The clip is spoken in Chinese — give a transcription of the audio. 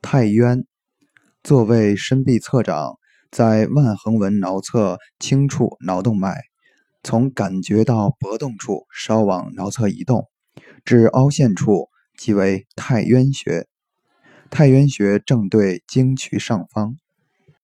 太渊，座位深臂侧掌，在腕横纹桡侧轻触桡动脉，从感觉到搏动处稍往桡侧移动，至凹陷处即为太渊穴。太渊穴正对经渠上方。